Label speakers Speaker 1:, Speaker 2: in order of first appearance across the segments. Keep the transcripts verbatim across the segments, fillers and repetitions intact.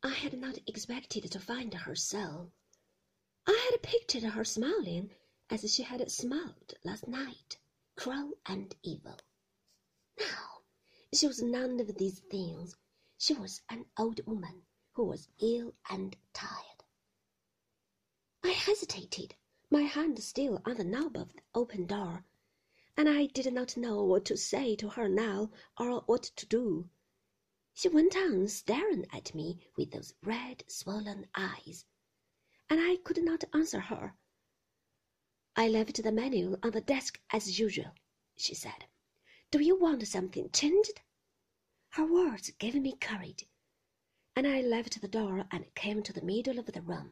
Speaker 1: I had not expected to find her so. I had pictured her smiling as she had smiled last night, cruel and evil. Now, she was none of these things. She was an old woman who was ill and tired. I hesitated, my hand still on the knob of the open door, and I did not know what to say to her now or what to do. She went on staring at me with those red, swollen eyes, and I could not answer her. I left the menu on the desk as usual, she said. Do you want something changed? Her words gave me courage, and I left the door and came to the middle of the room.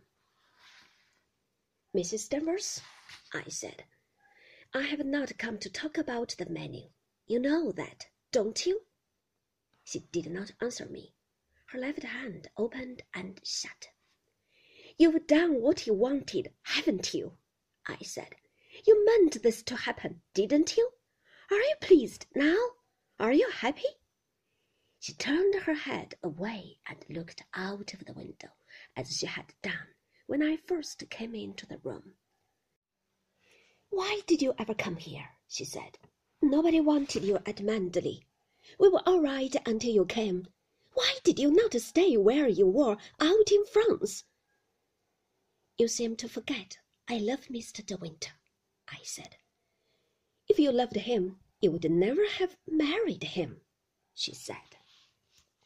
Speaker 1: Missus Danvers, I said, I have not come to talk about the menu. You know that, don't you? She did not answer me. Her left hand opened and shut. You've done what you wanted, haven't you? I said. You meant this to happen, didn't you? Are you pleased now? Are you happy? She turned her head away and looked out of the window as she had done when I first came into the room. Why did you ever come here? She said. Nobody wanted you at Manderley. We were all right until you came. Why did you not stay where you were out in France? You seem to forget I love Mister De Winter, I said. If you loved him, you would never have married him, she said.